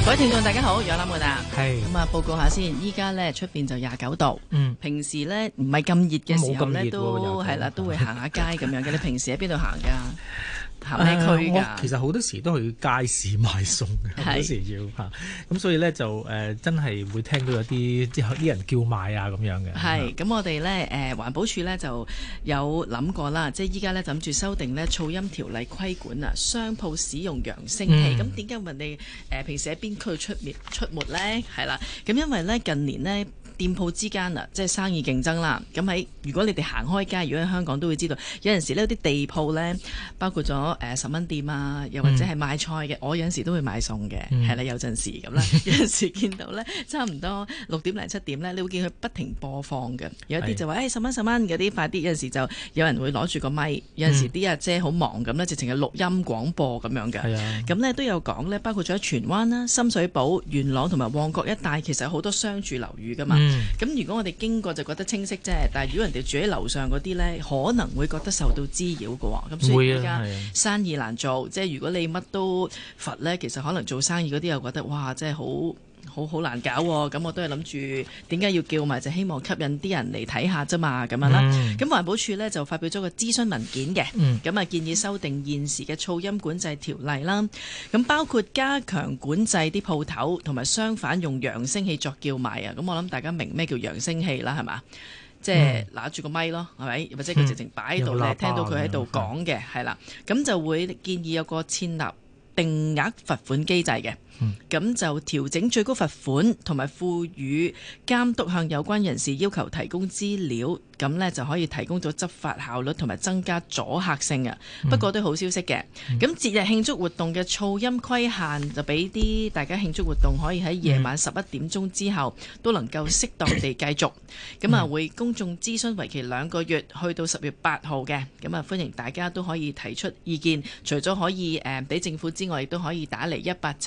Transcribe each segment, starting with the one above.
各位聽眾大家好，楊立門啊， 係咁啊報告下先，依家咧出邊就29度，平時咧唔係咁熱嘅時候咧都係啦，都會行下街咁樣嘅。你平時喺邊度行㗎？行咩區㗎？ 我其實好多時都去街市買餸嘅，好多時要嚇，咁所以咧就真係會聽到有啲人叫賣啊咁樣嘅。 係，咁我哋咧環保署咧就有諗過啦，即係依家咧諗住修訂咧噪音條例規管啊，商鋪使用揚聲器。咁點解問你平時喺邊區出沒咧？係啦，咁因為咧近年呢，店鋪之間啊，即係生意競爭啦。咁如果你哋行開街，如果喺香港都會知道，有陣時呢啲地鋪呢，包括咗10蚊店啊，又或者係賣菜嘅，我有陣時都會買餸嘅，係啦，有陣時咁啦。有陣時見到呢，差唔多6點零7點呢，你會見佢不停播放嘅。有啲就話10蚊10蚊嗰啲快啲，有陣時就有人會攞住個咪，有陣時啲阿姐好忙咁呢，直情係錄音廣播咁樣嘅。咁呢都有講呢，包括咗喺荃灣啦、深水埗、元朗同埋旺角一帶，其實有好多商住樓宇噶嘛。咁如果我哋經過就覺得清晰啫，但係如果人哋住喺樓上嗰啲呢，可能會覺得受到滋擾嘅喎。咁所以而家生意難做，即係如果你乜都罰呢，其實可能做生意嗰啲又覺得哇，真係好難搞喎。咁我都係諗住點解要叫埋，就希望吸引啲人嚟睇下啫嘛，咁樣啦。咁環保署呢，就發表咗個諮詢文件嘅，咁建議修訂現時嘅噪音管制條例啦。咁包括加強管制啲鋪頭同埋商販用揚聲器作叫賣啊。咁我諗大家明咩叫揚聲器啦，係嘛？即係拿住個咪咯，係咪？或者佢直情擺喺度咧，聽到佢喺度講嘅，係啦。咁就會建議有個設立定額罰款機制嘅。咁就調整最高罰款，同埋賦予監督向有關人士要求提供資料，咁呢就可以提供咗執法效率同埋增加阻嚇性啊。不過都好消息嘅，咁節日慶祝活動嘅噪音規限就俾啲大家慶祝活動可以喺夜晚11點鐘之後都能夠適當地繼續。咁會公眾諮詢為期2個月，去到10月8號嘅。咁歡迎大家都可以提出意見，除咗可以俾政府之外，亦都可以打嚟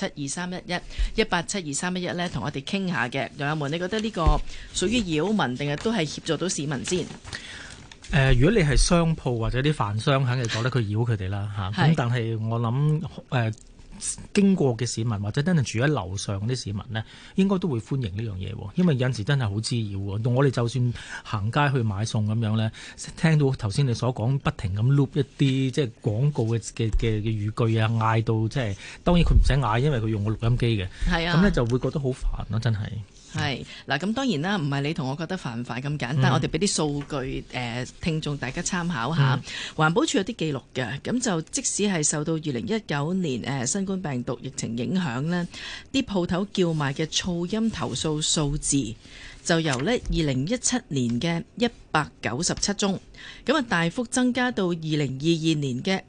1872311咧，同我哋傾下嘅。楊友們，你覺得呢個屬於擾民定係都係協助到市民先？ 如果你係商鋪或者啲飯商，肯定覺得佢擾佢哋啦嚇。咁但係我諗經過嘅市民或者真係住喺樓上啲市民呢，應該都會歡迎呢樣嘢喎，因為有陣時真係好滋擾喎。我哋就算行街去買餸咁樣呢，聽到頭先你所講不停咁 loop 一啲即係廣告嘅語句啊，嗌到即係當然佢唔使嗌，因為佢用個錄音機嘅，咁呢就會覺得好煩咯，真係。 係嗱，咁當然啦，唔係你同我覺得煩唔煩咁簡單，我哋俾啲數據聽眾大家參考下。環保署有啲記錄嘅，咁就即使係受到2019年新冠病毒疫情影響呢，啲鋪頭叫賣嘅噪音投訴數字就由2017年嘅197宗，咁大幅增加到2022年嘅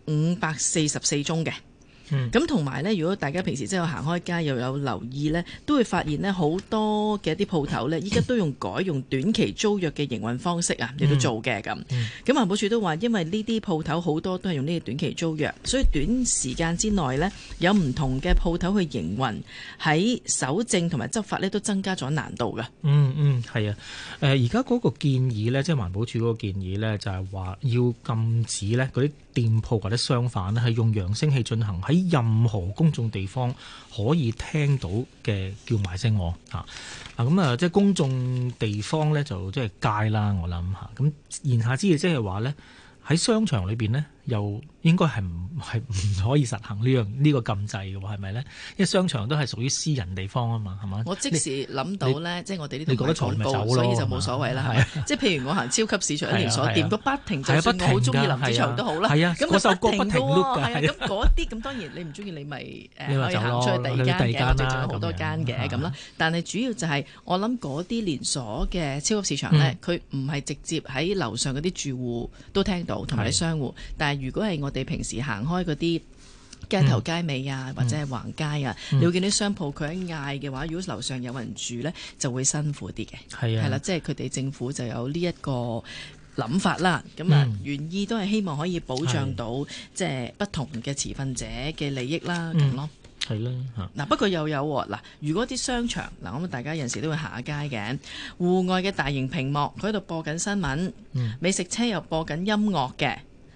544宗嘅。咁同埋呢，如果大家平時真係行開街又有留意呢，都會發現呢好多嘅一啲鋪頭呢，依家都改用短期租約嘅營運方式啊，亦都做嘅咁。咁環保署都話，因為呢啲鋪頭好多都係用呢個短期租約，所以短時間之內呢，有唔同嘅鋪頭去營運，喺搜證同埋執法呢都增加咗難度㗎。 係啊。而家嗰個建議呢，即係環保署嗰個建議呢，就係話要禁止呢嗰啲店鋪或者商販呢係用揚聲器進行喺任何公眾地方可以聽到嘅叫賣聲嚇。即係公眾地方呢，就即係街啦，我諗嚇。咁言下之意即係話呢，喺商場裏邊呢，又應該係唔可以實行呢個禁制嘅喎，係咪呢？因為商場都係屬於私人地方啊嘛，係嘛？ 我即時諗到呢，即係我哋呢度你覺得嘈咪走咯， 所以就冇所謂啦。即係譬如我行超級市場一連鎖店，都不停，就算我好中意林子祥都好啦。咁嗰首歌不停㗎。咁嗰啲咁當然你唔中意你咪可以行出去第二間嘅，我哋仲有好多間嘅咁啦。但係主要就係我諗嗰啲連鎖嘅超級市場呢，佢唔係直接喺樓上嗰啲住戶都聽到，同埋啲商戶。但係如果係我哋平時行開嗰啲街頭街尾啊，或者係橫街啊，你會見到商鋪佢喺嗌嘅話，如果樓上有人住呢，就會辛苦啲嘅。係啦，即係佢哋政府就有呢一個諗法啦。咁原意都係希望可以保障到即係不同嘅持份者嘅利益啦，咁咯。 係啦嚇。 不過又有嗱，如果啲商場咁大家有時都會行下街嘅，戶外嘅大型屏幕佢喺度播緊新聞，美食車又播緊音樂嘅。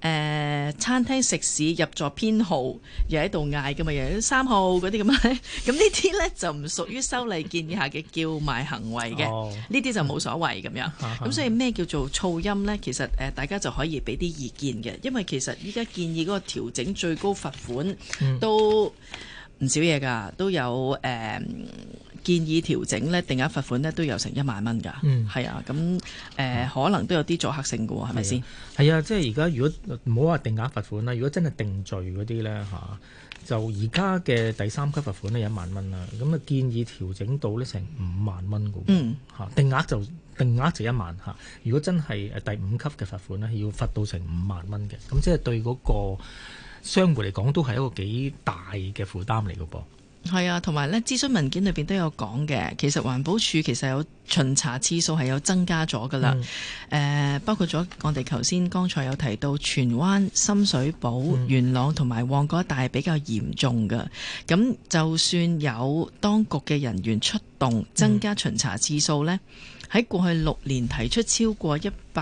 餐廳食肆入座編號又喺度嗌㗎嘛，又有3號嗰啲咁樣，咁呢啲呢就唔屬於修例建議下嘅叫賣行為嘅，呢啲就冇所謂咁樣。咁所以咩叫做噪音呢？其實大家就可以俾啲意見嘅，因為其實依家建議嗰個調整最高罰款都唔少嘢㗎，都有建議調整呢定額罰款呢都有成1萬蚊㗎，係啊，咁可能都有啲阻嚇性㗎喎，係咪先？ 係啊，即係而家如果唔好話定額罰款啦，如果真係定罪嗰啲呢，就而家嘅第3級罰款呢有1萬蚊啦，咁啊建議調整到呢成5萬蚊㗎喎，定額就1萬嚇，如果真係第5級嘅罰款呢，要罰到成5萬蚊嘅，咁即係對嗰個商戶嚟講都係一個幾大嘅負擔嚟㗎噃。 係啊，同埋咧諮詢文件裏邊都有講嘅，其實環保署其實有巡查次數係有增加咗噶啦，包括咗我哋剛才有提到荃灣、深水埗、元朗同埋旺角一帶比較嚴重噶，咁就算有當局嘅人員出動增加巡查次數呢，喺過去6年提出超過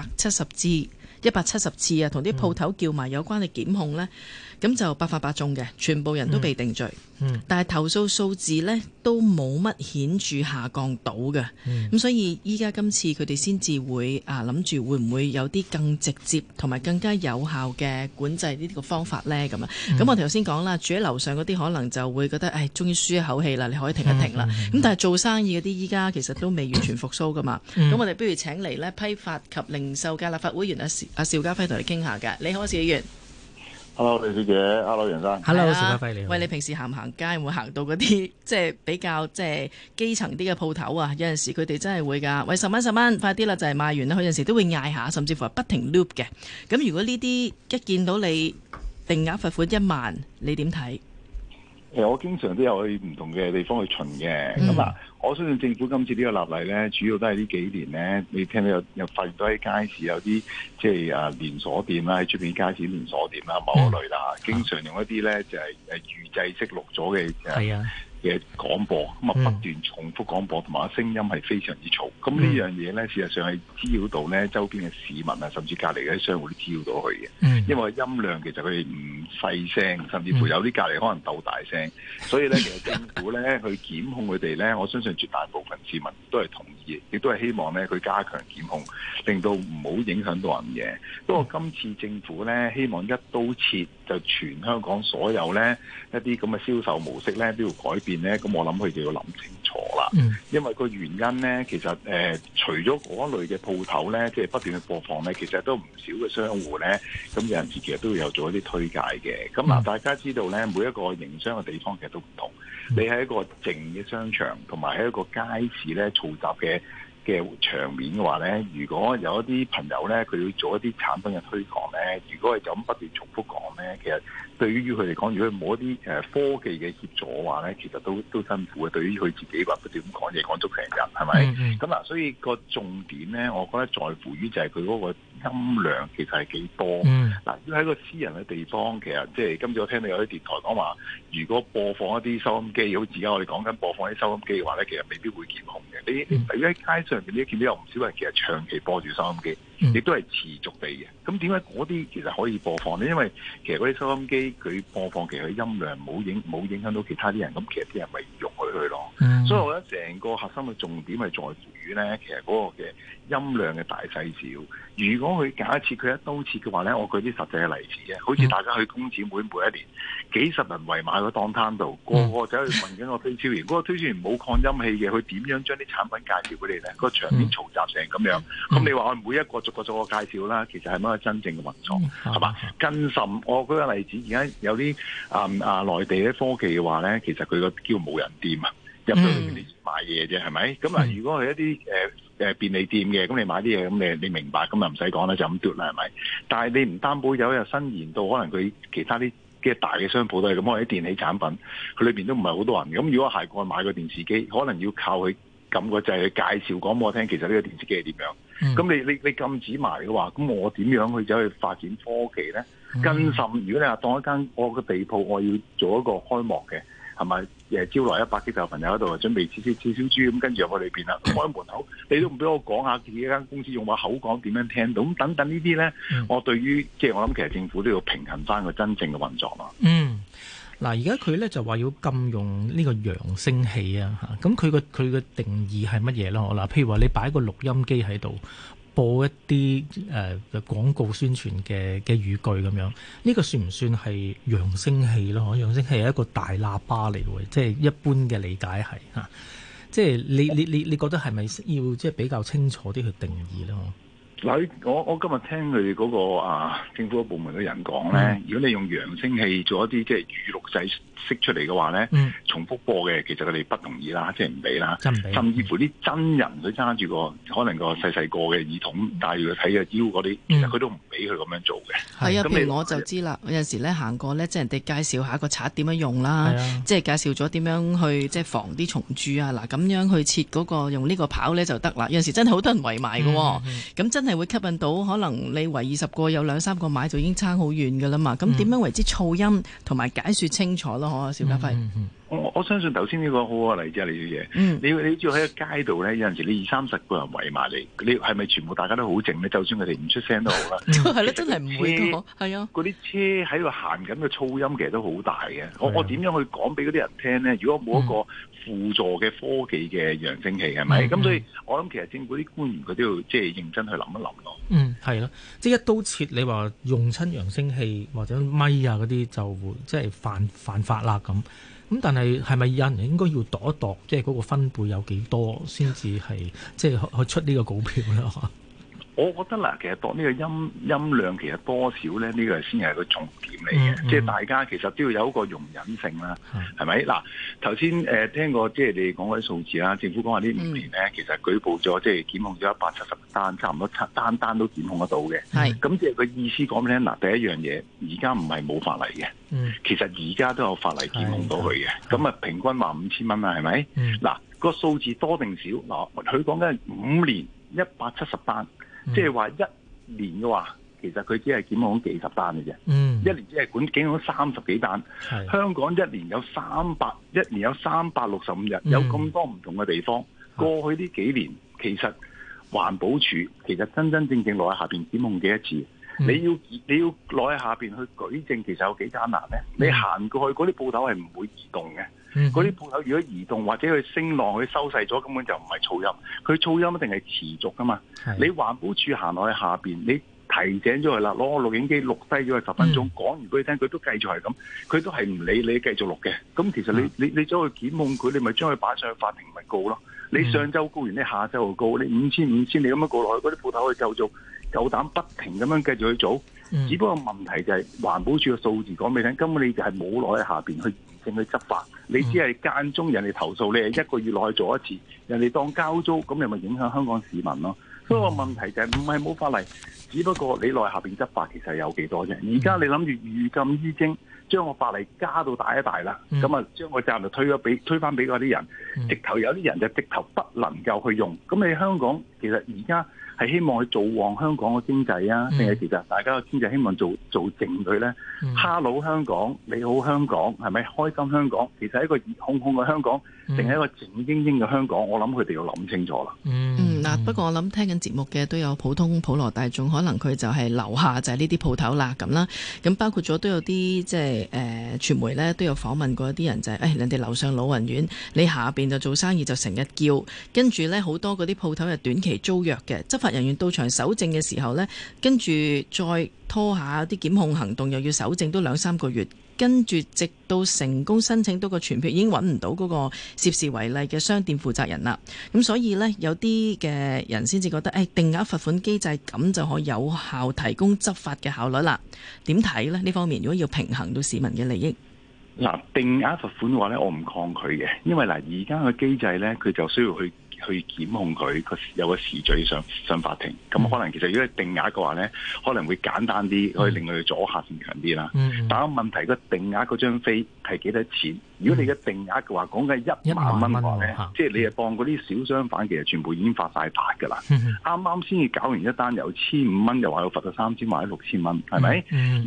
170次啊，同啲鋪頭叫埋有關嘅檢控呢，咁就百發百中嘅，全部人都被定罪。但係投訴數字呢都冇乜顯著下降到嘅。咁所以依家今次佢哋先至會諗住會唔會有啲更直接同埋更加有效嘅管制呢個方法呢？咁我哋頭先講啦，住喺樓上嗰啲可能就會覺得終於舒一口氣啦，你可以停一停啦。咁但係做生意嗰啲依家其實都未完全復甦噶嘛。咁我哋不如請嚟呢批發及零售界立法會議員阿邵家輝同你傾下㗎。你好，邵議員。 Hello， 李小姐 ，Hello， 楊生 ，Hello， 邵家輝你好。 喂，你平時行唔行街？會行到嗰啲即係比較基層啲嘅鋪頭啊？有陣時佢哋真係會㗎。喂，10蚊，快啲啦，就係賣完啦。佢有陣時都會嗌下，甚至乎係不停 loop 嘅。咁如果呢啲一見到你定額罰款1萬，你點睇？ 我經常都有去唔同嘅地方去巡嘅。咁我相信政府今次呢個立例咧，主要都係呢幾年咧，你聽到有發現到喺街市有啲即係連鎖店啦，喺出邊街市連鎖店啦，某一類啦，經常用一啲咧就係預製式錄咗嘅廣播，咁不斷重複廣播，同埋聲音係非常之嘈。咁呢樣嘢咧，事實上係滋擾到咧周邊嘅市民啊，甚至隔離嘅商戶都滋擾到佢嘅。因為音量其實佢哋唔細聲，甚至乎有啲隔離可能鬥大聲。所以咧，其實政府咧去檢控佢哋咧，我相信絕大部分市民都係同意，亦都係希望咧佢加強檢控，令到唔好影響到人嘅。不過今次政府咧希望一刀切，就全香港所有咧一啲咁嘅銷售模式咧都要改變。咁我諗佢就要諗清楚啦，因為個原因咧，其實除咗嗰類嘅鋪頭咧，即係不斷去播放咧，其實都唔少嘅商戶咧，咁有陣時其實都會有做一啲推介嘅。咁大家知道咧，每一個營商嘅地方其實都唔同，你喺一個靜嘅商場，同埋喺一個街市咧嘈雜嘅場面嘅話咧，如果有一啲朋友咧，佢要做一啲產品嘅推廣咧，如果係咁不斷重複講咧，其實對於佢嚟講，如果冇一啲科技嘅協助嘅話咧，其實都辛苦嘅。對於佢自己話不斷咁講嘢講足成日，係咪？咁所以個重點咧，我覺得在乎於就係佢嗰個音量其實係幾多。如果喺個私人嘅地方，其實即係今次我聽到有啲電台講話，如果播放一啲收音機，好似而家我哋講緊播放啲收音機嘅話咧，其實未必會檢控嘅。你喺街上邊，你見到有唔少人其實長期播住收音機，亦都係持續地嘅。咁點解嗰啲其實可以播放呢？因為其實嗰啲收音機佢播放其實佢音量冇影響到其他啲人，咁其實啲人咪容許佢咯。所以我覺得成個核心嘅重點係在乎於咧，其實嗰個嘅音量嘅大細小。如果佢假設佢一刀切嘅話咧，我舉啲實際嘅例子嘅，好似大家去工展會每一年幾十人圍埋個檔攤度，個個走去問緊個推銷員，嗰個推銷員冇擴音器嘅，佢點樣將啲產品介紹俾你咧？個場面嘈雜成咁樣，咁你話我每一個逐個介紹啦，其實係乜真正嘅運作係嘛？更甚，我舉個例子，而家有啲內地嘅科技嘅話咧，其實佢個叫無人店啊，入到裏面你買嘢啫，係咪？咁如果係一啲便利店嘅，咁你買啲嘢，咁你明白，咁啊唔使講啦，就咁嘟啦，係咪？但係你唔擔保有伸延到可能佢其他啲嘅大嘅商鋪都係咁，可能啲電器產品佢裏邊都唔係好多人。咁如果係過去買個電視機，可能要靠佢撳個掣去介紹講俾我聽，其實呢個電視機係點樣？咁你禁止埋嘅話，咁我點樣去走去發展科技咧？更甚，如果你話當一間我個地鋪，我要做一個開幕嘅。 係咪招來100幾個朋友喺度準備切燒豬咁，跟住入去裏邊啦，開門口你都唔俾我講下自己間公司用個口講點樣聽到，咁等等呢啲咧，我對於即係我諗其實政府都要平衡翻個真正嘅運作咯。 嗱，而家佢咧就話要禁用呢個揚聲器啊，咁佢個定義係乜嘢咯？嗱，譬如話你擺個錄音機喺度播一啲廣告宣傳嘅語句咁樣，呢個算唔算係揚聲器咯？揚聲器係一個大喇叭嚟嘅，即係一般嘅理解係嚇。即係你覺得係咪要即係比較清楚啲去定義咧？ 嗱，我今日聽佢哋嗰個政府部門嘅人講咧，如果你用揚聲器做一啲即係語錄製式出嚟嘅話咧，重複播嘅，其實佢哋不同意啦，即係唔俾啦，甚至乎啲真人佢揸住個可能個細細個嘅耳筒戴住佢睇嘅腰嗰啲，其實佢都唔俾佢咁樣做嘅。 係啊，譬如我就知啦，有陣時咧行過咧，即係人哋介紹下個刷點樣用啦，即係介紹咗點樣去即係防啲蟲蛀啊，嗱咁樣去切嗰個用呢個刨咧就得啦。有陣時真係好多人圍埋嘅，咁真係會吸引到可能你圍20個有2-3個買就已經差好遠㗎啦嘛。咁點樣為之噪音同埋解説清楚咯？邵家輝， 我相信頭先呢個好嘅例子啊，李小姐，你知道喺個街度咧，有陣時你20-30個人圍埋你，你係咪全部大家都好靜咧？就算佢哋唔出聲都好啦， 係咯，真係唔會嘅，係啊， 嗰啲車喺度行緊嘅噪音其實都好大嘅。我點樣去講俾嗰啲人聽咧？如果冇一個輔助嘅科技嘅揚聲器係咪？咁所以我諗其實政府啲官員佢都要即係認真去諗一諗咯。 係咯，即係一刀切，你話用親揚聲器或者咪啊嗰啲就會即係犯法啦咁。咁但係咪有人應該要度一度，即係嗰個分貝有幾多先至係即係去出呢個股票咧？ 我覺得嗱，其實度呢個音量其實多少咧，呢個先係個重點嚟嘅。即係大家其實都要有一個容忍性啦，係咪？嗱，頭先聽過即係你講嗰啲數字啦，政府講話呢5年咧，其實舉報咗即係檢控咗170單，差唔多單都檢控得到嘅。咁即係個意思講咩咧？嗱，第一樣嘢，而家唔係冇法例嘅，其實而家都有法例檢控到佢嘅。咁啊，平均話5000蚊啦，係咪？嗱，個數字多定少？嗱，佢講緊5年170單。即係話1年嘅話，其實佢只係檢控幾十單嘅啫。1年只係檢控30幾單。香港1年有365日，有咁多唔同嘅地方。過去呢幾年，其實環保署其實真正落喺下邊檢控幾多次？你要落喺下邊去舉證，其實有幾艱難咧？你行過去嗰啲鋪頭係唔會移動嘅。嗰啲鋪頭如果移動或者佢聲浪佢收細咗，根本就唔係噪音。佢噪音一定係持續噶嘛。你環保署行落去下邊，你提醒咗佢啦，攞個錄影機錄低咗佢10分鐘，講完俾佢聽，佢都繼續係咁，佢都係唔理你繼續錄嘅。咁其實你走去檢控佢，你咪將佢擺上去法庭咪告咯。你上週告完，你下週又告，你5000你咁樣告落去，嗰啲鋪頭去就做，夠膽不停咁樣繼續去做。只不過問題就係環保署嘅數字講俾你聽，根本你就係冇落喺下邊去驗證去執法，你只係間中人哋投訴，你係1個月內去做一次，人哋當交租，咁你咪影響香港市民咯。所以個問題就係唔係冇法例，只不過你落喺下邊執法其實有幾多啫。而家你諗住寓禁於徵，將個法例加到大一大啦，咁啊將個責任就推翻俾嗰啲人，直頭有啲人就直頭不能夠去用。咁你香港其實而家係希望去做旺香港嘅經濟啊，定係其實大家嘅經濟希望做靜佢咧？Hello 香港，你好香港，係咪開心香港？其實係一個熱烘烘嘅香港，定係一個靜英英嘅香港？我諗佢哋要諗清楚啦。 嗱，不過我諗聽緊節目嘅都有普羅大眾，可能佢就係樓下就係呢啲鋪頭啦咁啦。咁包括咗都有啲即係傳媒咧都有訪問過一啲人就係人哋樓上老人院，你下邊就做生意就成日叫，跟住咧好多嗰啲鋪頭係短期租約嘅，執法人員到場搜證嘅時候呢，跟住再拖下啲檢控行動，又要搜證都2-3個月，跟住直到成功申請到個傳票，已經揾唔到嗰個涉事違例嘅商店負責人啦。咁所以呢，有啲嘅人先至覺得，定額罰款機制咁就可以有效提供執法嘅效率啦。點睇呢？呢方面如果要平衡到市民嘅利益， 嗱，定額罰款嘅話呢，我唔抗拒嘅，因為嗱而家嘅機制呢，佢就需要去檢控佢有個時序上法庭，咁可能其實如果係定額嘅話咧，可能會簡單啲，可以令佢阻嚇性強啲啦。但係問題個定額嗰張飛係幾多錢？如果你嘅定額嘅話，講緊1萬蚊嘅話咧，即係你係當嗰啲小商販其實全部已經發晒達㗎啦。啱啱先至搞完一單，由1500蚊又話要罰到3000或者6000蚊，係咪？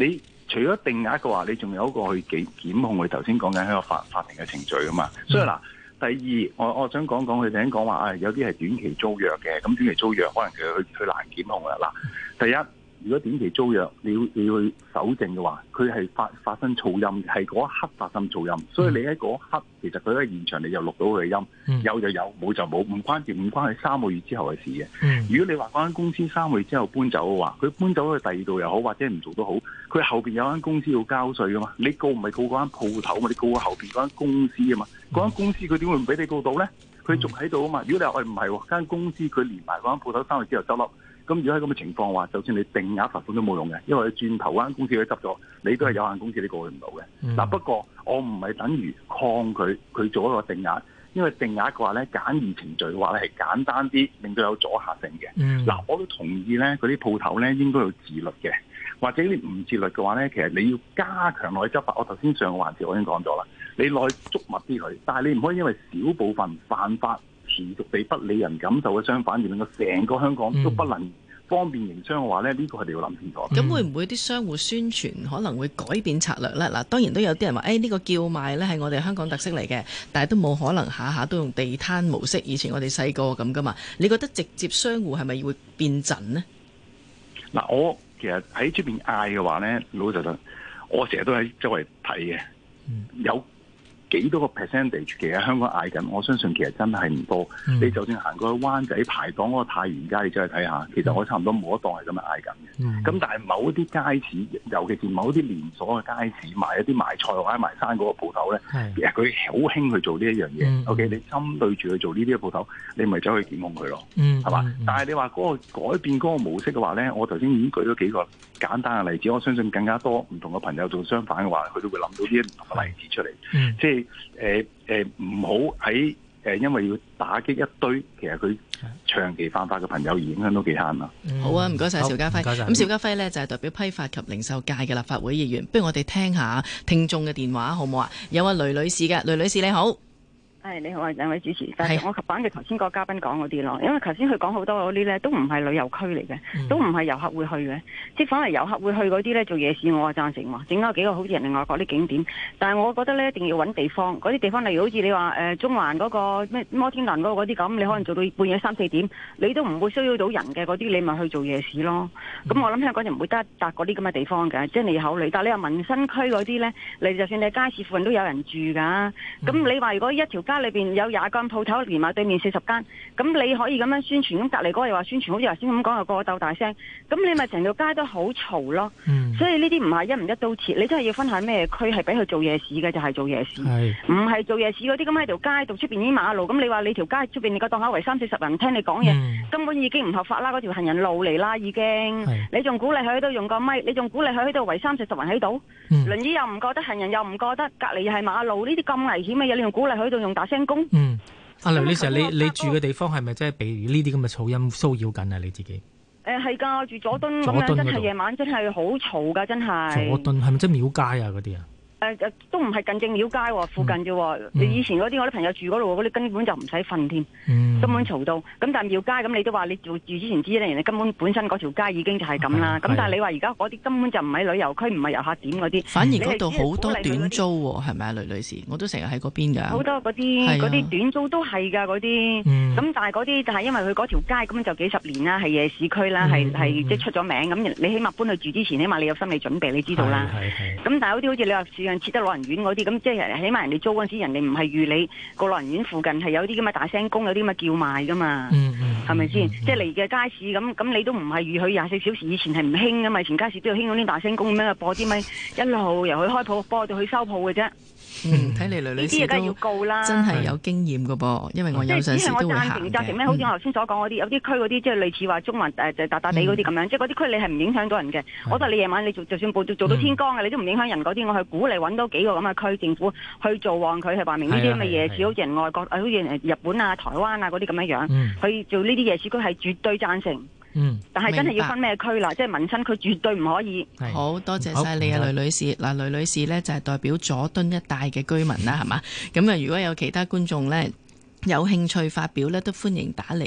除咗定額嘅話，你仲有一個去檢控佢頭先講緊喺個法庭嘅程序啊嘛。所以嗱，第二我想講佢哋講話有啲係短期租約嘅，咁短期租約可能佢難檢控啦。嗱，第一，如果短期租約你要去搜證嘅話，佢係發生噪音，係嗰一刻發生噪音，所以你喺嗰一刻其實佢喺現場你就錄到佢嘅音，有就有，冇就冇，唔關佢3個月之後嘅事嘅。如果你話嗰間公司3個月之後搬走嘅話，佢搬走去第二度又好，或者唔做都好，佢後邊有間公司要交稅噶嘛，你告唔係告嗰間鋪頭嘛，你告後邊嗰間公司啊嘛，嗰間公司佢點會唔俾你告到咧？佢仲喺度啊嘛。如果你話唔係間公司佢連埋嗰間鋪頭3個月之後執笠。咁如果喺咁嘅情況話，就算你定額罰款都冇用嘅，因為轉頭嗰間公司佢執咗，你都係有限公司，你過佢唔到嘅。嗱，不過我唔係等於抗拒佢做一個定額，因為定額嘅話咧，簡易程序嘅話咧係簡單啲，令到有阻嚇性嘅。嗱，我都同意咧，嗰啲鋪頭咧應該要自律嘅，或者你唔自律嘅話咧，其實你要加強落去執法。我頭先上個環節我已經講咗啦，你落去捉密啲佢，但係你唔可以因為小部分犯法持續地不理人感受嘅相反，而令到成個香港都不能方便營商嘅話咧，呢個係你要諗清楚。 咁會唔會啲商戶宣傳可能會改變策略咧？嗱，當然都有啲人話，呢個叫賣咧係我哋香港特色嚟嘅，但係都冇可能下下都用地攤模式。以前我哋細個咁噶嘛。你覺得直接商戶係咪會變陣呢？ 嗱，我其實喺出邊嗌嘅話咧，老實講，我成日都喺周圍睇嘅，有幾多個 percentage 其實香港嗌緊，我相信其實真係唔多。你就算行過去灣仔排檔嗰個太原街，你走去睇下，其實我差唔多冇一檔係咁樣嗌緊嘅。咁但係某一啲街市，尤其是某一啲連鎖嘅街市，賣一啲賣菜或者賣生果嘅鋪頭咧，其實佢好興去做呢一樣嘢。OK， 你針對住去做呢啲嘅鋪頭，你咪走去檢控佢咯，係嘛？但係你話嗰個改變嗰個模式嘅話咧，我頭先已經舉咗幾個簡單嘅例子，我相信更加多唔同嘅朋友做相反嘅話，佢都會諗到呢啲唔同嘅例子出嚟。即係唔好喺因為要打擊一堆其實佢長期犯法嘅朋友而影響到其他人啦。 好啊，唔該晒邵家輝。咁邵家輝呢，就係代表批發及零售界嘅立法會議員，不如我哋聽下聽眾嘅電話好唔好啊？有雷女士嘅，雷女士你好。 你好啊，兩位主持。但係我反嘅頭先個嘉賓講嗰啲咯，因為頭先佢講好多嗰啲咧都唔係旅遊區嚟嘅，都唔係遊客會去嘅，即係反而遊客會去嗰啲咧做夜市，我係贊成喎，整咗幾個好似人哋外國啲景點。但係我覺得咧一定要揾地方，嗰啲地方例如好似你話中環嗰個咩摩天輪嗰個嗰啲咁，你可能做到半夜3、4點，你都唔會騷擾到人嘅嗰啲，你咪去做夜市咯。咁我諗香港人唔會得搭嗰啲咁嘅地方嘅，即係你考慮。但係你話民生區嗰啲咧，你就算你街市附近都有人住㗎，咁你話如果一條街裏邊有20間鋪頭，連埋對面40間，咁你可以咁樣宣傳，咁隔離嗰個又話宣傳，好似頭先咁講又個個鬥大聲，咁你咪成條街都好嘈咯。所以呢啲唔係一唔一刀切，你真係要分下咩區係俾佢做夜市嘅，就係做夜市，唔係做夜市嗰啲咁喺條街度出邊已經馬路，咁你話你條街出邊你個檔口圍30、40人聽你講嘢，根本已經唔合法啦，嗰條行人路嚟啦已經，你仲鼓勵佢喺度用個咪，你仲鼓勵佢喺度圍30、40人喺度，輪椅又唔覺得，行人又唔覺得，隔離又係馬路，呢啲咁危險嘅嘢，你仲鼓勵佢喺度用大聲公？ 阿雷女士，你住嘅地方係咪真係被呢啲咁嘅噪音騷擾緊啊？你自己？ 係㗎，住佐敦咁樣，真係夜晚真係好嘈㗎，真係。 佐敦係咪即係廟街啊嗰啲啊？ 都唔係近正廟街附近啫。以前嗰啲我啲朋友住嗰度，嗰啲根本就唔使瞓添，根本嘈到。咁但係廟街咁，你都話你住之前知咧，人哋根本本身嗰條街已經就係咁啦。咁但係你話而家嗰啲根本就唔係旅遊區，唔係遊客點嗰啲。 反而嗰度好多短租喎，係咪啊，雷女士？我都成日喺嗰邊㗎。 好多嗰啲短租都係㗎嗰啲。咁但係嗰啲就係因為佢嗰條街咁就幾十年啦，係夜市區啦，係即係出咗名。咁你起碼搬去住之前，起碼你有心理準備，你知道啦。咁但係有啲好似你話設得老人院嗰啲，咁即係起碼人哋租嗰陣時，人哋唔係預你個老人院附近係有啲咁嘅大聲公，有啲咁嘅叫賣噶嘛，係咪先？即係嚟嘅街市咁你都唔係預佢24小時，以前係唔興噶嘛，以前街市都有興嗰啲大聲公咁樣播啲咪一路由佢開鋪播到佢收鋪嘅啫。 睇嚟雷女士都真係有經驗㗎噃，因為我有陣時都會行嘅。贊成咩？好似我頭先所講嗰啲，有啲區嗰啲即係類似話中環就大地嗰啲咁樣，即係嗰啲區你係唔影響到人嘅。我覺得你夜晚你就算做到天光嘅，你都唔影響人嗰啲。我去鼓勵揾多幾個咁嘅區政府去做旺佢，係話明呢啲咁嘅夜市，好似人外國，好似日本啊、台灣啊嗰啲咁樣去做呢啲夜市區係絕對贊成。但係真係要分咩區啦，即係民生區絕對唔可以。 好多謝晒你啊，雷女士。嗱，雷女士呢就係代表佐敦一帶嘅居民啦，係嘛？咁啊，如果有其他觀眾呢有興趣發表呢，都歡迎打嚟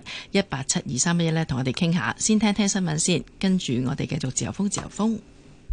1872311，1872311呢同我哋傾下。先聽聽新聞先，跟住我哋繼續自由風。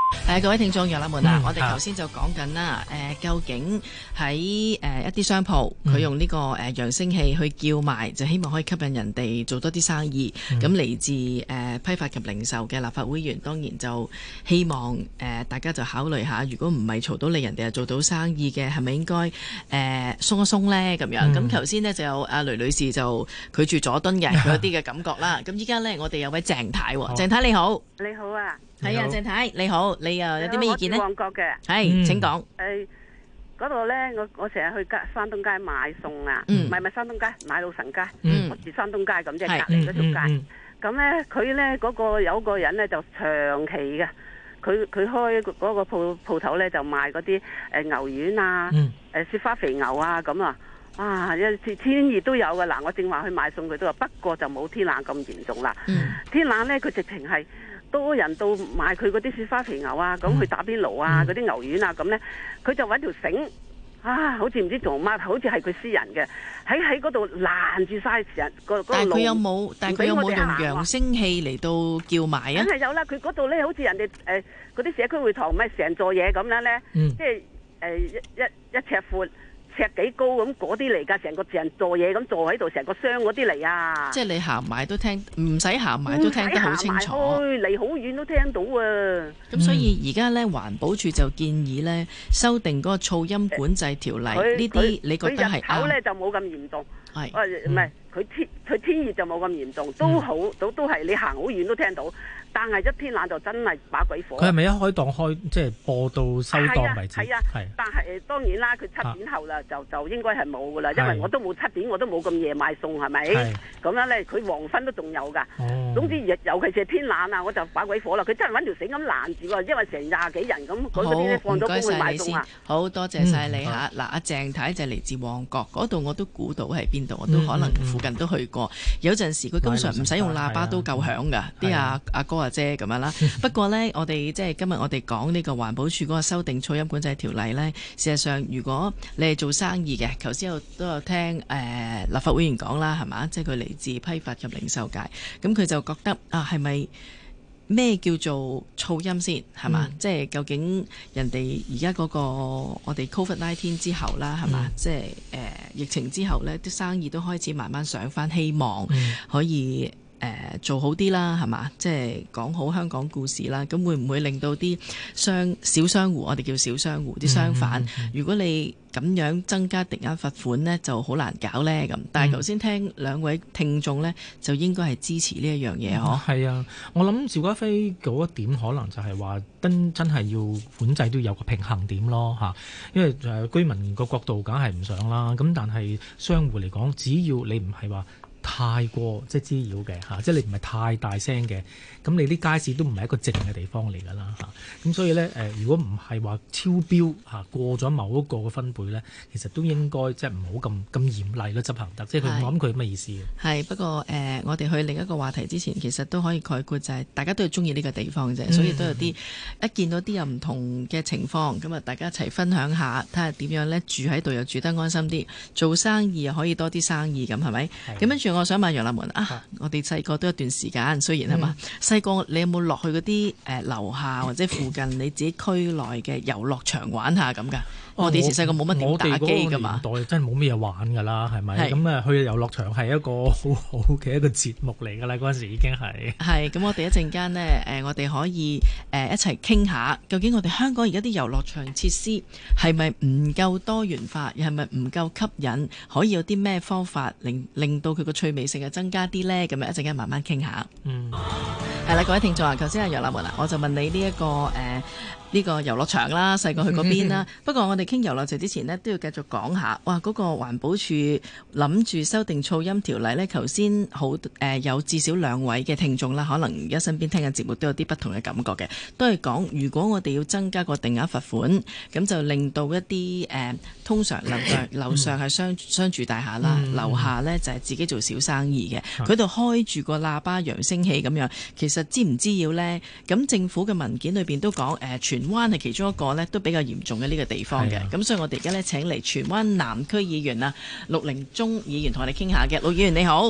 各位聽眾楊立門啊，我哋頭先就講緊啦，究竟喺一啲商鋪佢用呢個揚聲器去叫賣，就希望可以吸引人哋做多啲生意。咁嚟自批發及零售嘅立法會議員，當然就希望大家就考慮下，如果唔係嘈到你，人哋又做到生意嘅，係咪應該鬆一鬆呢？咁樣。咁頭先呢，就有阿雷女士就拒絕佐敦嘅佢有啲嘅感覺啦。咁依家呢，我哋有位鄭太，鄭太你好， 你好啊。 係啊，鄭太你好，你又有啲咩意見呢？ 我住旺角嘅， 係請講。 嗰度咧，我成日去山東街買餸啊，唔係山東街，買老神街。我住山東街咁，即係隔離嗰條街。咁咧，佢咧嗰個有個人咧就長期嘅，佢開嗰個鋪頭咧就賣嗰啲牛丸啊，雪花肥牛啊咁啊。哇！有時天熱都有噶嗱，我正話去買餸佢都話，不過就冇天冷咁嚴重啦。天冷咧，佢直情係多人到買佢嗰啲雪花肥牛啊，咁去打邊爐啊，嗰啲牛丸啊咁咧，佢就揾條繩啊，好似唔知做乜，好似係佢私人嘅，喺嗰度攔住晒成個路。但係佢有冇用揚聲器嚟到叫賣啊？梗係有啦，佢嗰度咧好似人哋嗰啲社區會堂咪成座嘢咁樣咧，即係一尺闊。尺幾高咁嗰啲嚟㗎，成座嘢咁坐喺度，成個箱嗰啲嚟啊！即係你行埋都聽，唔使行埋都聽得好清楚。離好遠都聽到啊！咁所以而家咧，環保署就建議咧修訂嗰個噪音管制條例，呢啲你覺得係啱？佢日頭咧就冇咁嚴重，係唔係？佢天熱就冇咁嚴重，都好都係你行好遠都聽到。但係一天冷就真係把鬼火。佢係咪一開檔即係播到收檔為止？係啊，但係當然啦，佢7點後啦就應該係冇噶啦，因為我都冇7點，我都冇咁夜賣餸，係咪？咁樣咧，佢黃昏都仲有㗎。總之尤其是天冷啊，我就把鬼火啦。佢真係揾條繩咁攔住喎，因為成20幾人咁，嗰啲咧放咗工去賣餸啊。好多謝晒你嚇。嗱，阿鄭太就嚟自旺角嗰度，我都估到係邊度，我都可能附近都去過。有陣時佢根本上唔使用喇叭都夠響㗎，啲阿哥阿姐咁樣啦。不過呢，我哋即係今日我哋講呢個環保署嗰個修訂噪音管制條例呢，事實上如果你係做生意嘅，頭先都有聽立法會議員講啦，係嘛？即係佢嚟自批發及零售界，咁佢就覺得啊，係咪咩叫做噪音先係嘛？即係究竟人哋而家嗰個我哋 COVID-19 之後啦，係嘛？即係疫情之後呢，啲生意都開始慢慢上返，希望可以做好啲啦，係嘛？即係講好香港故事啦。咁會唔會令到啲小商戶，我哋叫小商戶啲商販，如果你咁樣增加定額罰款呢，就好難搞呢。咁。但係頭先聽兩位聽眾呢，就應該係支持呢一樣嘢嗬。係啊，我諗邵家輝嗰一點可能就係話真係要管制都有個平衡點咯嚇。因為居民個角度梗係唔想啦。咁但係商戶嚟講，只要你唔係話太過即係滋擾嘅嚇，即係你唔係太大聲嘅，咁你啲街市都唔係一個靜嘅地方嚟㗎啦嚇。咁所以咧如果唔係話超標嚇過咗某一個嘅分貝咧，其實都應該即係唔好咁嚴厲咯執行得，即係佢我諗佢咩意思嘅。係不過我哋去另一個話題之前，其實都可以概括就係大家都係中意呢個地方啫，所以都有啲一見到啲有唔同嘅情況，咁啊大家一齊分享下，睇下點樣咧住喺度又住得安心啲，做生意又可以多啲生意咁係咪？咁跟住我想問楊立門啊，我哋細個都一段時間，雖然係嘛，細個你有冇落去嗰啲樓下或者附近你自己區內嘅遊樂場玩下咁㗎？我哋以前細個冇乜點打機㗎嘛，我哋嗰個年代真係冇咩嘢玩㗎啦，係咪？咁去遊樂場係一個好好嘅一個節目嚟㗎啦，嗰陣時已經係。係咁，我哋一陣間呢，我哋可以一齊傾下，究竟我哋香港而家啲遊樂場設施係咪唔夠多元化，又係咪唔夠吸引？可以有啲咩方法令到佢個趣味性係增加啲呢？咁樣一陣間慢慢傾下。係啦，各位聽眾啊，頭先阿楊立門啊，我就問你呢個遊樂場啦，細個去嗰邊啦。不過我哋傾遊樂場之前呢，都要繼續講下，哇！嗰個環保署諗住修訂噪音條例呢，頭先有至少2位嘅聽眾啦，可能而家身邊聽嘅節目都有啲不同嘅感覺嘅，都係講如果我哋要增加個定額罰款，咁就令到一啲通常樓上係商住大廈啦，樓下呢就係自己做小生意嘅，佢度開住個喇叭揚聲器咁樣，其實知唔知要呢？咁政府嘅文件裏邊都講荃灣係其中一個呢都比較嚴重嘅呢個地方嘅，咁所以我哋而家呢請嚟荃灣南區議員啊陸凌忠議員同我哋傾下嘅。陸議員你好。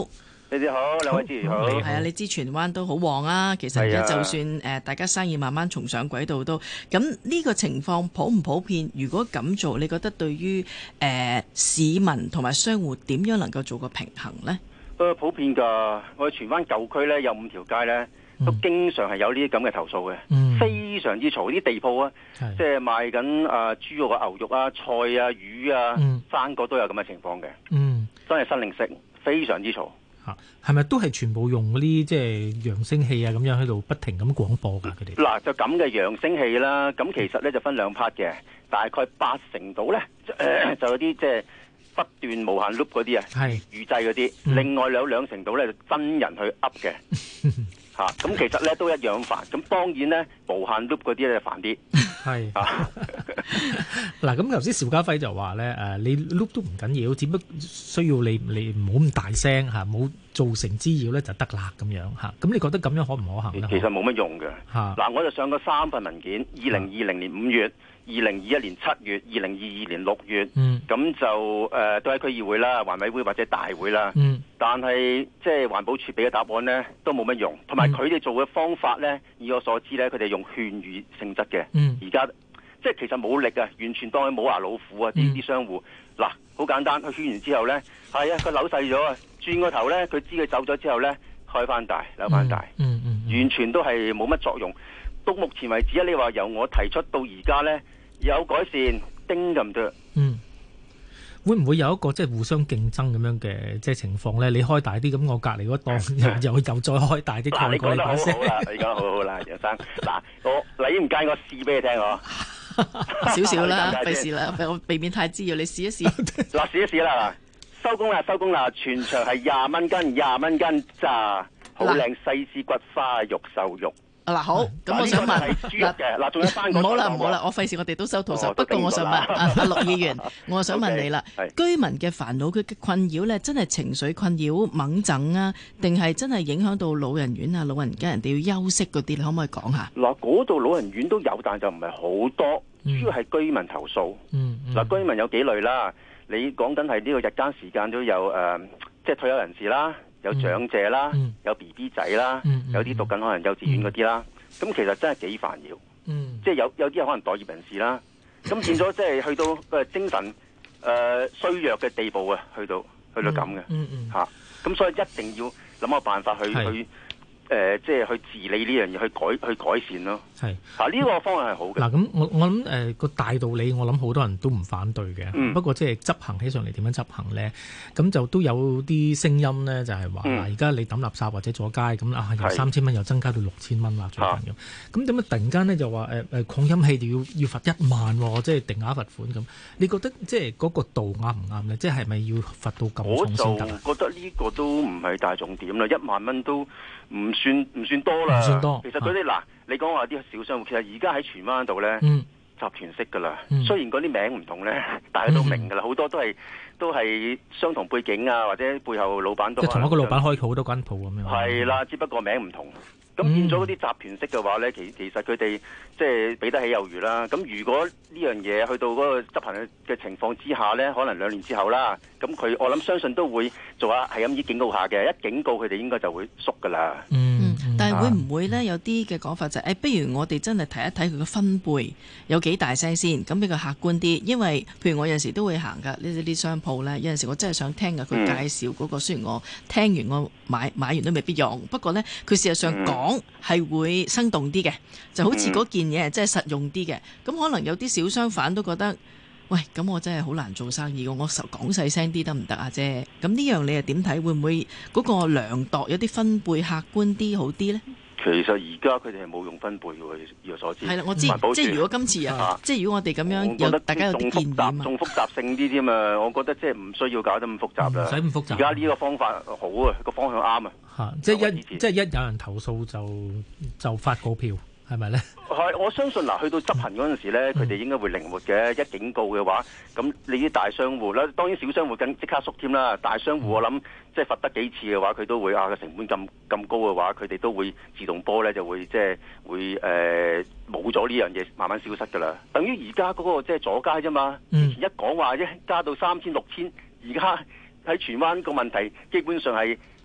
你哋好，兩位主持好。 係啊，你知荃灣都好旺啊。其實而家就算大家生意慢慢重上軌道都，咁呢個情況普唔普遍？如果咁做，你覺得對於市民同埋商戶點樣能夠做個平衡呢？ 普遍㗎。我哋荃灣舊區呢，有5條街呢，都經常係有呢啲咁嘅投訴嘅，非常之嘈。啲地鋪啊，即係賣緊豬肉啊、牛肉啊、菜啊、魚啊、生果都有咁嘅情況嘅。真係新零食，非常之嘈。 係咪都係全部用嗰啲即係揚聲器啊咁樣喺度不停咁廣播㗎？佢哋嗱就咁嘅揚聲器啦，咁其實咧就分2 part 嘅，大概80%度咧就有啲即係不斷無限 loop 嗰啲啊，預製嗰啲，另外有2成度咧就真人去噏嘅嚇，咁其實咧都一樣煩。咁當然咧無限 loop 嗰啲咧就煩啲。 係嗱，咁頭先邵家輝就話咧你 loop 都唔緊要，只不過需要你唔好咁大聲嚇，冇造成滋擾咧就得啦咁樣嚇。咁你覺得咁樣可唔可行咧？ 其實冇乜用嘅嚇。嗱，我就上過3份文件，2020年5月、2021年7月、2022年6月，咁就都喺區議會啦、環委會或者大會啦。但係即係環保署俾嘅答案呢，都冇乜用，同埋佢哋做嘅方法呢，以我所知呢，佢哋用勸喻性質嘅。而家即係其實冇力啊，完全當佢冇牙老虎啊！啲商戶嗱，好簡單，佢勸完之後呢，係啊，佢扭細咗啊，轉個頭呢，佢知佢走咗之後呢，開翻大，扭翻大，完全都係冇乜作用。到目前為止你話由我提出到而家呢，有改善，丁咁多。 會唔會有一個即係互相競爭咁樣嘅即係情況咧？你開大啲，咁我隔離嗰檔又再開大啲。 嗱，你講得好好啦，你講得好好啦，楊生。嗱，你唔介意我試俾你聽我？ 少少啦，費事啦，我避免太滋擾，你試一試。 嗱，試一試啦，嗱，收工啦，收工啦，全場係20蚊斤，20蚊斤咋，好靚西施骨花肉瘦肉。 嗱好，咁我想問嗱，仲有翻唔好啦，我費事我哋都收徒手。不過我想問阿陸議員，我想問你啦，居民嘅煩惱佢嘅困擾咧，真係情緒困擾、猛整啊，定係真係影響到老人院啊、老人家人哋要休息嗰啲？你可唔可以講下？嗱， 嗰度老人院都有，但就唔係好多，主要係居民投訴。嗱，居民有幾類啦，你講緊係呢個日間時間都有即係退休人士啦。有長者啦，有 BB 仔啦，有啲讀緊可能幼稚園嗰啲啦，咁其實真係幾煩擾，即係有啲可能待業人士啦，咁變咗即係去到精神衰弱嘅地步啊，去到咁嘅嚇，咁所以一定要諗個辦法去即係去治理呢樣嘢，去改善咯。係呢個方案係好嘅。嗱， 咁我諗個大道理，我諗好多人都唔反對嘅。不過即係執行起上嚟點樣執行咧？咁就都有啲聲音咧，就係話嗱，而家你抌垃圾或者阻街咁由3000蚊又增加到6000蚊啦，最近咁點解突然間咧就話擴音器就要罰1萬喎？即係定額罰款咁？你覺得即係嗰個度啱唔啱咧？即係咪要罰到咁重先得？ 我就覺得呢個都唔係大重點啦，1萬蚊都唔算多啦。 唔算多。 其實嗰啲嗱，你講話啲小商戶，其實而家喺荃灣度咧，集團式噶啦。雖然嗰啲名唔同咧，大家都明噶啦，好多都係相同背景啊，或者背後老闆都同一個老闆開好多間鋪咁樣。 係啦，只不過名唔同。咁變咗嗰啲集團式嘅話咧，其實佢哋即係俾得起有餘啦。咁如果呢樣嘢去到嗰個執行嘅情況之下咧，可能2年之後啦，咁我諗相信都會做下係咁意警告下嘅，一警告佢哋應該就會縮噶啦。 但係會唔會咧有啲嘅講法就係不如我哋真係睇一睇佢嘅分貝有幾大聲先，咁比較客觀啲。因為譬如我有陣時都會行㗎呢啲商鋪咧，有陣時我真係想聽㗎佢介紹嗰個，雖然我聽完我買完都未必用，不過咧佢事實上講係會生動啲嘅，就好似嗰件嘢係真係實用啲嘅。咁可能有啲小商販都覺得，喂，咁我真係好難做生意㗎，我講細聲啲得唔得啊啫？咁呢樣你又點睇？會唔會嗰個量度有啲分貝客觀啲好啲呢？ 其實而家佢哋係冇用分貝嘅，以我所知。 係啦，我知。即係如果今次即係如果我哋咁樣大家有啲建議嘛， 仲複雜性啲添啊！我覺得即係唔需要搞得咁複雜啦。 唔使咁複雜。 而家呢個方法好啊，個方向啱啊。 即係一有人投訴就發告票。係咪咧？ 係，我相信嗱，去到執行嗰陣時咧，佢哋應該會靈活嘅。一警告嘅話，咁你啲大商戶啦，當然小商戶更即刻縮添啦。大商戶我諗即係罰得幾次嘅話，佢都會個成本咁高嘅話，佢哋都會自動波咧就會即係會冇咗呢樣嘢，慢慢消失㗎啦。等於而家嗰個即係阻街啫嘛。以前一講話加到3000、6000，而家喺荃灣個問題基本上係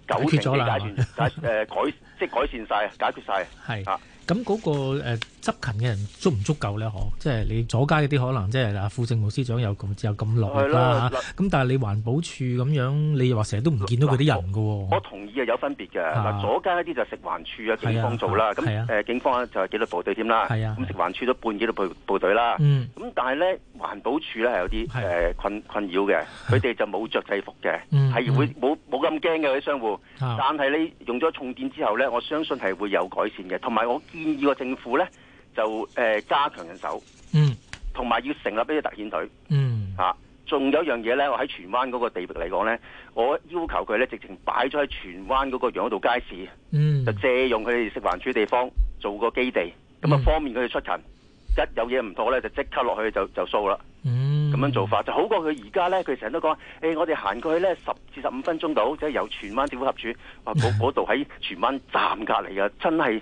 九成嘅改善晒，解決晒。 係啊。咁嗰個執勤嘅人足唔足夠咧？即係你阻街嗰啲可能即係副政務司長有咁落力啦嚇。咁但係你環保署咁樣，你又話成日都唔見到嗰啲人㗎喎。 我同意係有分別嘅。嗱，阻街嗰啲就食環署啊、警方做啦。咁警方就係紀律部隊添啦。咁食環署都半紀律部隊啦。咁但係咧，環保署咧係有啲困擾嘅。佢哋就冇着制服嘅，係會冇咁驚嘅嗰啲商戶。但係你用咗重電之後咧，我相信係會有改善嘅。同埋我建議個政府咧就加強人手，同埋要成立呢啲特遣隊，仲有一樣嘢咧，我喺荃灣嗰個地域嚟講咧，我要求佢咧直情擺咗喺荃灣嗰個楊道街市，就借用佢哋食環署地方做個基地，咁啊方便佢哋出勤，一有嘢唔妥咧就即刻落去就掃啦。咁樣做法就好過佢而家咧，佢成日都講，我哋行過去咧10至15分鐘到，即係由荃灣政府合署，哇嗰度喺荃灣站隔離啊，真係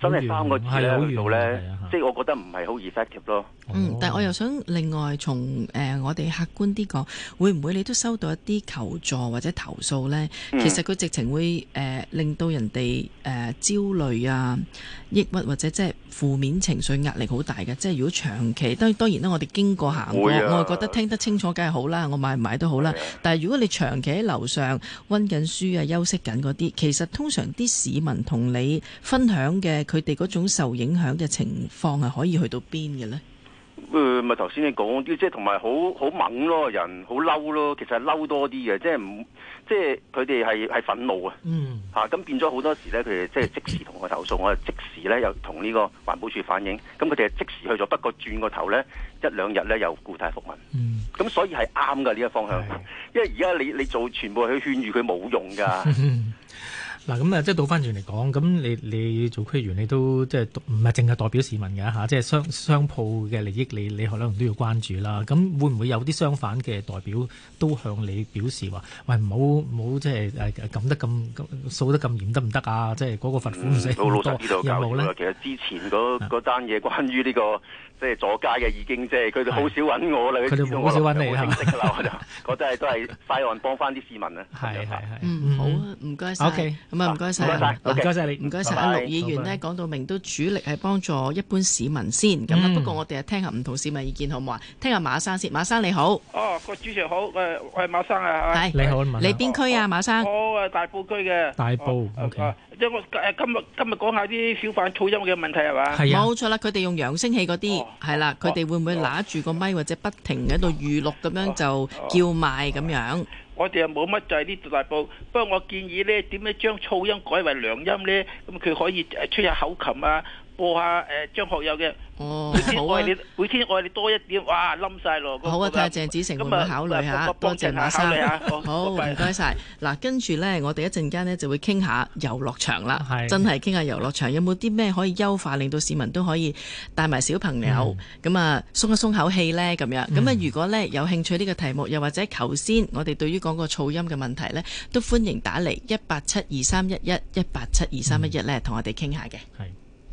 3個字咧去到咧，即係我覺得唔係好 effective 咯。 但係我又想另外從我哋客觀啲講，會唔會你都收到一啲求助或者投訴咧？其實佢直情會令到人哋焦慮啊、抑鬱或者即係負面情緒壓力好大嘅。即係如果長期當然啦，我哋經過行過，我係覺得聽得清楚梗係好啦，我買唔買都好啦。但係如果你長期喺樓上溫緊書啊、休息緊嗰啲，其實通常啲市民同你分享嘅佢哋嗰種受影響嘅情況係可以去到邊嘅咧？ 咪頭先你講啲，即係同埋好猛咯，人好嬲咯，其實係嬲多啲嘅，即係佢哋係憤怒啊，咁變咗好多時咧，佢哋即係即時同我投訴，我係即時咧又同呢個環保署反映，咁佢哋係即時去咗，不過轉個頭咧1-2日咧又故態復萌，咁所以係啱㗎呢個方向，因為而家你做全部去勸喻佢冇用㗎。 嗱咁啊，即係倒翻轉嚟講，咁你做區議員，你都即係唔係淨係代表市民嘅嚇，即係商鋪嘅利益，你可能都要關注啦。咁會唔會有啲相反嘅代表都向你表示話，喂，唔好即係撳得咁掃得咁嚴得唔得啊？即係嗰個罰款唔使咁多，有冇咧？ 其實之前嗰單嘢關於呢個即係阻街嘅已經即係佢哋好少揾我啦，佢哋好少揾你係識㗎啦，我就覺得都係快案幫翻啲市民啊。係， 好啊，唔該晒。OK。咁啊，唔該晒， 唔該晒你， 唔該晒。阿陸議員呢講到明都主力係幫助一般市民先，咁啊不過我哋啊聽下唔同市民意見好唔好啊？聽下馬生先，馬生你好。 個主持好，我係馬生啊。 係你好， 你邊區啊，馬生？ 我大埔區嘅。 大埔 ，OK。 即係我今日講下啲小販噪音嘅問題係嘛？ 係啊，冇錯啦，佢哋用揚聲器嗰啲係啦，佢哋會唔會拿住個咪或者不停喺度預錄咁樣就叫賣咁樣？ 我哋又冇乜就係呢度大埔，不過我建議咧點樣將噪音改為良音咧？咁佢可以吹下口琴啊，播下張學友嘅。每天愛你多一點，哇冧晒咯！ 好啊，睇下鄭子誠會唔會考慮下？多謝馬生。好，唔該晒。嗱，跟住咧，我哋一陣間咧就會傾下遊樂場啦。真係傾下遊樂場有冇啲咩可以優化，令到市民都可以帶埋小朋友咁啊鬆一鬆口氣咧咁樣。咁啊，如果咧有興趣呢個題目，又或者頭先我哋對於講個噪音嘅問題咧，都歡迎打嚟1872311，1872311咧，同我哋傾下嘅。係。